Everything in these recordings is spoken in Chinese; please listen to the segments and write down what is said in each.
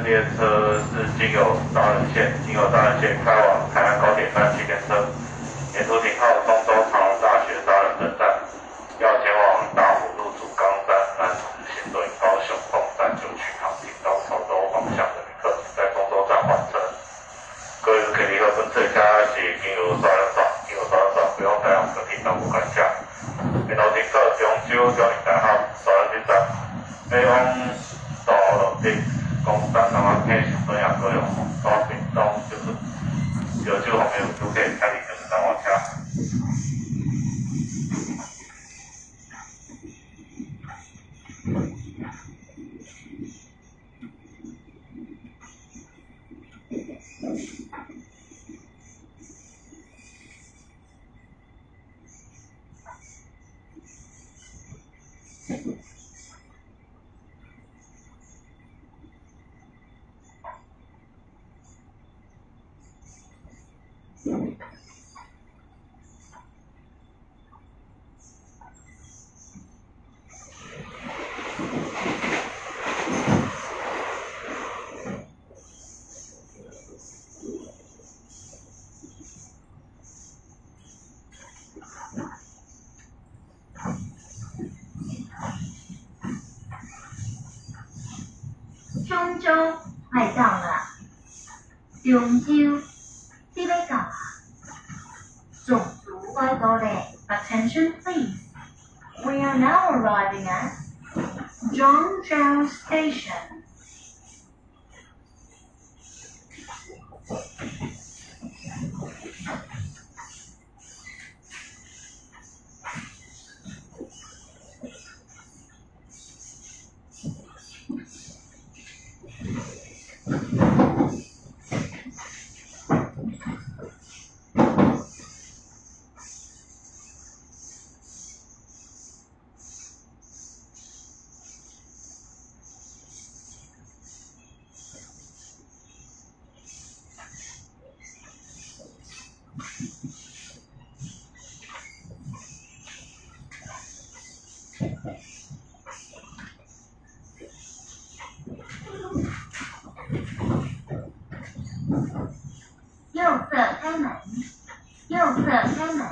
列车是经由彰人线开往台南高铁站起点车，沿途停靠中州长荣大学彰人分站，要前往大湖路竹冈站、南子、新屯、高雄东站就去航停到潮州方向的旅客，在中州站换车。各位旅客本车车是经由双人站，不用台湾高铁到无关车。然后停靠中州交流大学双人站，北往道路的公站台湾配上东亚各用高屏东就是后面就可以开始就是单往车。 中州来到了，中州即要到啊！中途快到咧 ，Attention please. We are now arriving at Zhongzhou Station. 右侧开门，右侧开门。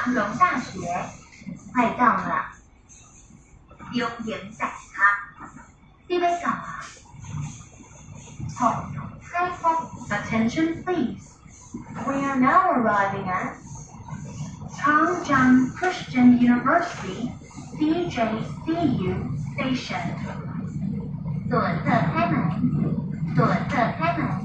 普隆大学，快到了。表演大學，啲咩教啊？學童開課 ，Attention please. We are now arriving at Changjiang Christian University CJCU Station. 左侧开门，左侧开门。